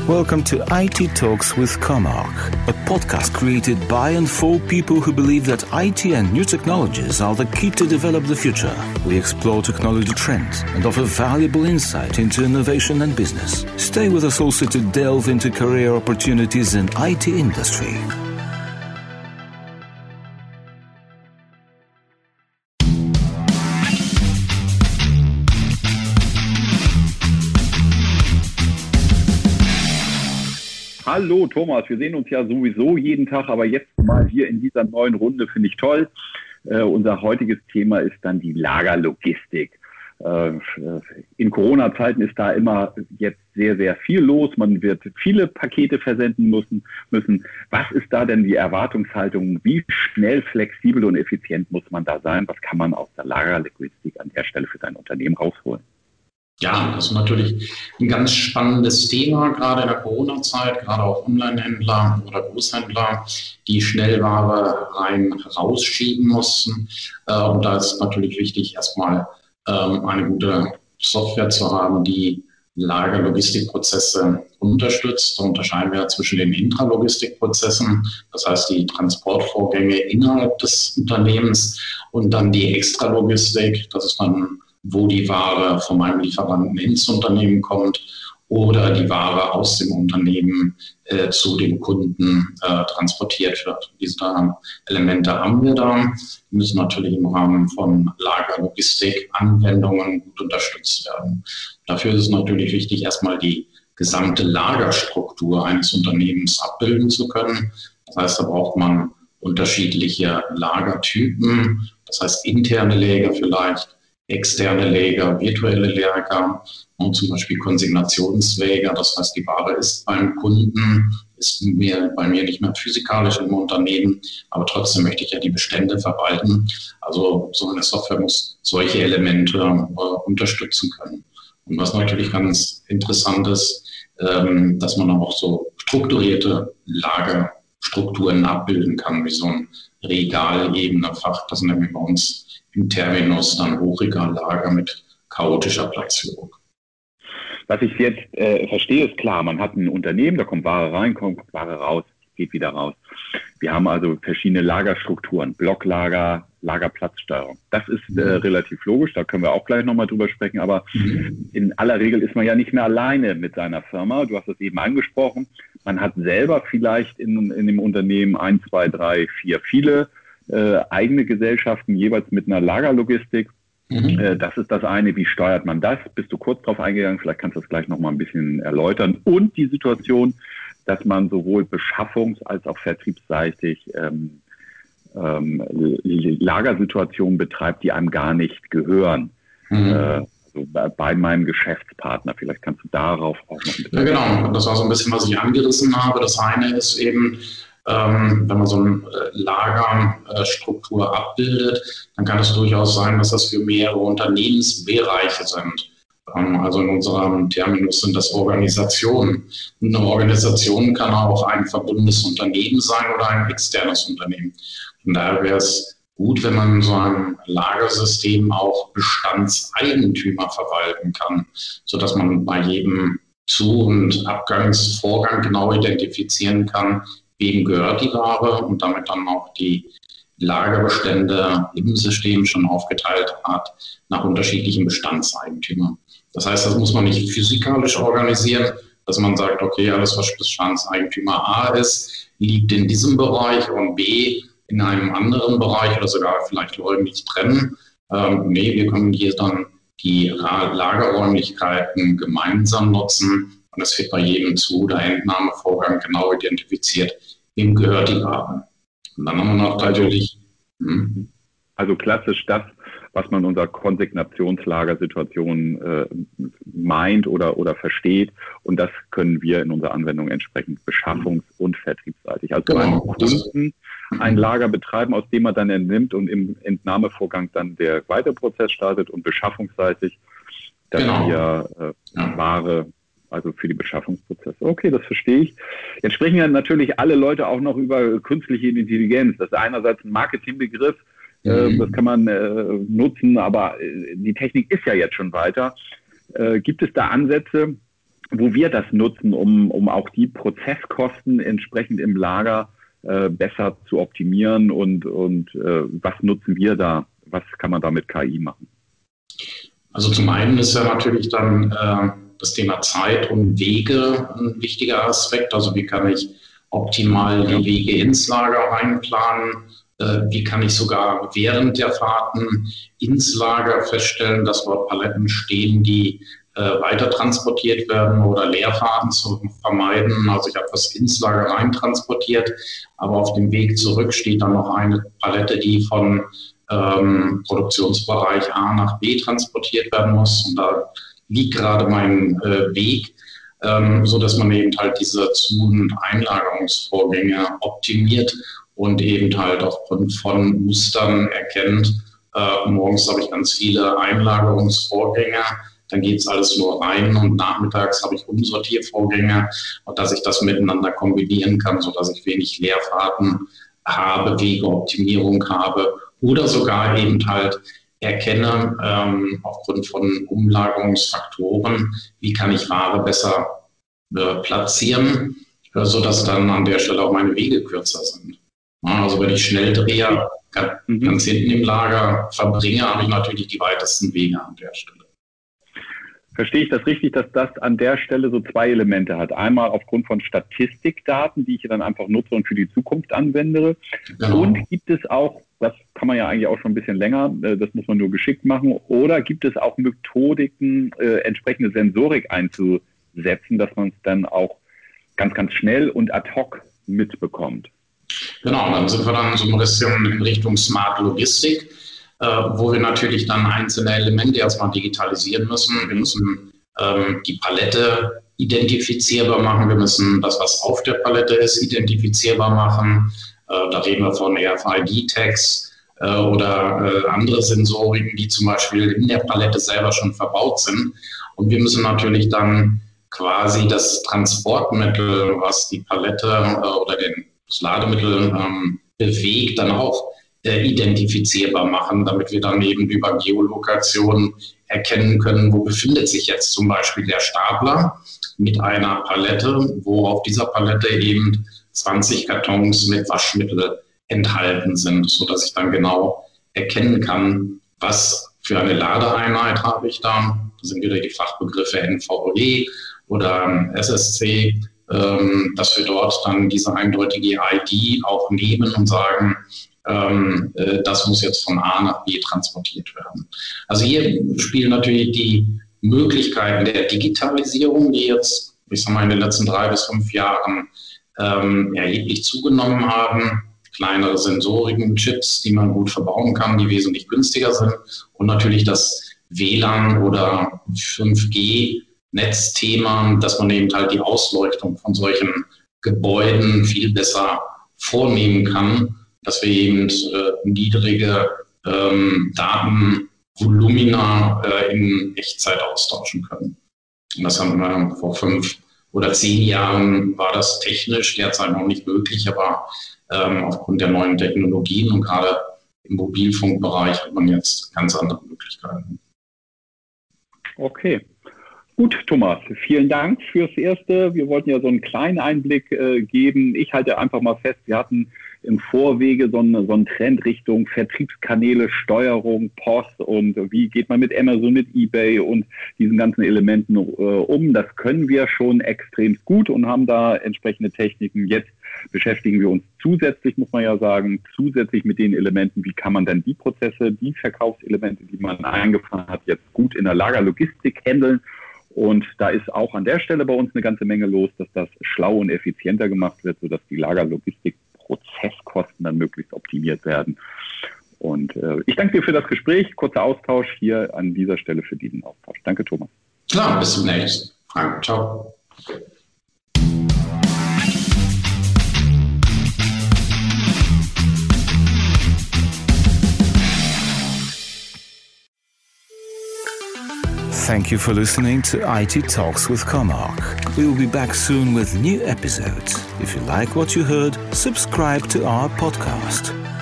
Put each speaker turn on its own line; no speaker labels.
Welcome to IT Talks with Comarch, a podcast created by and for people who believe that IT and new technologies are the key to develop the future. We explore technology trends and offer valuable insight into innovation and business. Stay with us also to delve into career opportunities in IT industry.
Hallo Thomas, wir sehen uns ja sowieso jeden Tag, aber jetzt mal hier in dieser neuen Runde finde ich toll. Unser heutiges Thema ist dann die Lagerlogistik. In Corona-Zeiten ist da immer jetzt sehr, sehr viel los. Man wird viele Pakete versenden müssen. Was ist da denn die Erwartungshaltung? Wie schnell, flexibel und effizient muss man da sein? Was kann man aus der Lagerlogistik an der Stelle für sein Unternehmen rausholen?
Ja, das ist natürlich ein ganz spannendes Thema, gerade in der Corona-Zeit, gerade auch Online-Händler oder Großhändler, die Schnellware rausschieben mussten. Und da ist natürlich wichtig, erstmal eine gute Software zu haben, die Lagerlogistikprozesse unterstützt. Da unterscheiden wir zwischen den Intralogistikprozessen, das heißt die Transportvorgänge innerhalb des Unternehmens, und dann die Extralogistik, das ist dann, wo die Ware von meinem Lieferanten ins Unternehmen kommt oder die Ware aus dem Unternehmen zu dem Kunden transportiert wird. Diese Elemente haben wir da. Die müssen natürlich im Rahmen von Lagerlogistik-Anwendungen gut unterstützt werden. Dafür ist es natürlich wichtig, erstmal die gesamte Lagerstruktur eines Unternehmens abbilden zu können. Das heißt, da braucht man unterschiedliche Lagertypen, das heißt interne Lager vielleicht, externe Lager, virtuelle Lager und zum Beispiel Konsignationswege. Das heißt, die Ware ist beim Kunden, ist bei mir nicht mehr physikalisch im Unternehmen, aber trotzdem möchte ich ja die Bestände verwalten. Also so eine Software muss solche Elemente unterstützen können. Und was natürlich ganz interessant ist, dass man auch so strukturierte Lagerstrukturen abbilden kann, wie so ein Regalebene-Fach. Das nennen wir bei uns im Terminus dann Hochregallager mit chaotischer Platzierung.
Was ich jetzt verstehe, ist klar, man hat ein Unternehmen, da kommt Ware rein, kommt Ware raus, geht wieder raus. Wir haben also verschiedene Lagerstrukturen, Blocklager, Lagerplatzsteuerung. Das ist relativ logisch, da können wir auch gleich nochmal drüber sprechen, aber in aller Regel ist man ja nicht mehr alleine mit seiner Firma. Du hast es eben angesprochen, man hat selber vielleicht in dem Unternehmen 1, 2, 3, 4, viele eigene Gesellschaften, jeweils mit einer Lagerlogistik. Das ist das eine. Wie steuert man das? Bist du kurz drauf eingegangen? Vielleicht kannst du das gleich nochmal ein bisschen erläutern. Und die Situation, dass man sowohl beschaffungs- als auch vertriebsseitig Lagersituationen betreibt, die einem gar nicht gehören. Also bei meinem Geschäftspartner. Vielleicht kannst du darauf auch noch ein bisschen...
Ja, genau. Das war so ein bisschen, was ich angerissen habe. Das eine ist eben, wenn man so eine Lagerstruktur abbildet, dann kann es durchaus sein, dass das für mehrere Unternehmensbereiche sind. Also in unserem Terminus sind das Organisationen. Und eine Organisation kann auch ein verbundenes Unternehmen sein oder ein externes Unternehmen. Von daher wäre es gut, wenn man in so einem Lagersystem auch Bestandseigentümer verwalten kann, sodass man bei jedem Zu- und Abgangsvorgang genau identifizieren kann, wem gehört die Ware, und damit dann auch die Lagerbestände im System schon aufgeteilt hat nach unterschiedlichen Bestandseigentümern. Das heißt, das muss man nicht physikalisch organisieren, dass man sagt, okay, alles, was Bestandseigentümer A ist, liegt in diesem Bereich und B in einem anderen Bereich oder sogar vielleicht räumlich trennen. Nee, wir können hier dann die Lagerräumlichkeiten gemeinsam nutzen. Und es wird bei jedem Zu- oder Entnahmevorgang genau identifiziert, wem gehört die Ware. Und dann haben wir noch natürlich...
Also klassisch das, was man unter Konsignationslagersituation meint oder versteht. Und das können wir in unserer Anwendung entsprechend beschaffungs- und vertriebsseitig. Also beim Kunden ein Lager betreiben, aus dem man dann entnimmt und im Entnahmevorgang dann der weitere Prozess startet, und beschaffungsseitig, dass wir Ware, also für die Beschaffungsprozesse. Okay, das verstehe ich. Jetzt sprechen ja natürlich alle Leute auch noch über künstliche Intelligenz. Das ist einerseits ein Marketingbegriff, das kann man nutzen, aber die Technik ist ja jetzt schon weiter. Gibt es da Ansätze, wo wir das nutzen, um auch die Prozesskosten entsprechend im Lager besser zu optimieren und was nutzen wir da? Was kann man da mit KI machen?
Also zum einen ist ja natürlich dann das Thema Zeit und Wege ein wichtiger Aspekt. Also wie kann ich optimal die Wege ins Lager reinplanen? Wie kann ich sogar während der Fahrten ins Lager feststellen, dass dort Paletten stehen, die weiter transportiert werden oder Leerfahrten zu vermeiden. Also ich habe was ins Lager rein transportiert, aber auf dem Weg zurück steht dann noch eine Palette, die von Produktionsbereich A nach B transportiert werden muss. Und da liegt gerade mein Weg, so dass man eben halt diese Zu- und Einlagerungsvorgänge optimiert und eben halt aufgrund von Mustern erkennt. Morgens habe ich ganz viele Einlagerungsvorgänge, dann geht es alles nur rein und nachmittags habe ich Umsortiervorgänge und dass ich das miteinander kombinieren kann, sodass ich wenig Leerfahrten habe, Wegeoptimierung habe oder sogar eben halt erkenne, aufgrund von Umlagerungsfaktoren, wie kann ich Ware besser platzieren, sodass dann an der Stelle auch meine Wege kürzer sind. Also wenn ich Schnelldreher ganz hinten im Lager verbringe, habe ich natürlich die weitesten Wege an der Stelle.
Verstehe ich das richtig, dass das an der Stelle so zwei Elemente hat? Einmal aufgrund von Statistikdaten, die ich dann einfach nutze und für die Zukunft anwende. Genau. Und gibt es auch, das kann man ja eigentlich auch schon ein bisschen länger, das muss man nur geschickt machen, oder gibt es auch Methodiken, entsprechende Sensorik einzusetzen, dass man es dann auch ganz, ganz schnell und ad hoc mitbekommt?
Genau, dann sind wir dann so ein bisschen in Richtung Smart Logistik, wo wir natürlich dann einzelne Elemente erstmal digitalisieren müssen. Wir müssen die Palette identifizierbar machen. Wir müssen das, was auf der Palette ist, identifizierbar machen. Da reden wir von RFID-Tags oder andere Sensoriken, die zum Beispiel in der Palette selber schon verbaut sind. Und wir müssen natürlich dann quasi das Transportmittel, was die Palette oder das Lademittel bewegt, dann auch identifizierbar machen, damit wir dann eben über Geolokation erkennen können, wo befindet sich jetzt zum Beispiel der Stapler mit einer Palette, wo auf dieser Palette eben 20 Kartons mit Waschmittel enthalten sind, sodass ich dann genau erkennen kann, was für eine Ladeeinheit habe ich da. Das sind wieder die Fachbegriffe NVE oder SSC, dass wir dort dann diese eindeutige ID auch nehmen und sagen, das muss jetzt von A nach B transportiert werden. Also hier spielen natürlich die Möglichkeiten der Digitalisierung, die jetzt, ich sag mal, in den letzten 3 bis 5 Jahren erheblich zugenommen haben. Kleinere Sensoriken, Chips, die man gut verbauen kann, die wesentlich günstiger sind. Und natürlich das WLAN oder 5G-Netzthema, dass man eben halt die Ausleuchtung von solchen Gebäuden viel besser vornehmen kann, dass wir eben niedrige Datenvolumina in Echtzeit austauschen können. Und das haben wir vor 5 oder 10 Jahren, war das technisch derzeit noch nicht möglich, aber aufgrund der neuen Technologien und gerade im Mobilfunkbereich hat man jetzt ganz andere Möglichkeiten.
Okay. Gut, Thomas, vielen Dank fürs Erste. Wir wollten ja so einen kleinen Einblick geben. Ich halte einfach mal fest, wir hatten im Vorwege so einen Trend Richtung Vertriebskanäle, Steuerung, Post und wie geht man mit Amazon, mit eBay und diesen ganzen Elementen um. Das können wir schon extrem gut und haben da entsprechende Techniken. Jetzt beschäftigen wir uns zusätzlich, muss man ja sagen, zusätzlich mit den Elementen, wie kann man denn die Prozesse, die Verkaufselemente, die man eingefahren hat, jetzt gut in der Lagerlogistik handeln. Und da ist auch an der Stelle bei uns eine ganze Menge los, dass das schlau und effizienter gemacht wird, sodass die Lagerlogistik-Prozesskosten dann möglichst optimiert werden. Und ich danke dir für das Gespräch. Kurzer Austausch hier an dieser Stelle für diesen Austausch. Danke, Thomas.
Klar, bis zum nächsten. Frank, ciao.
Thank you for listening to IT Talks with Comarch. We will be back soon with new episodes. If you like what you heard, subscribe to our podcast.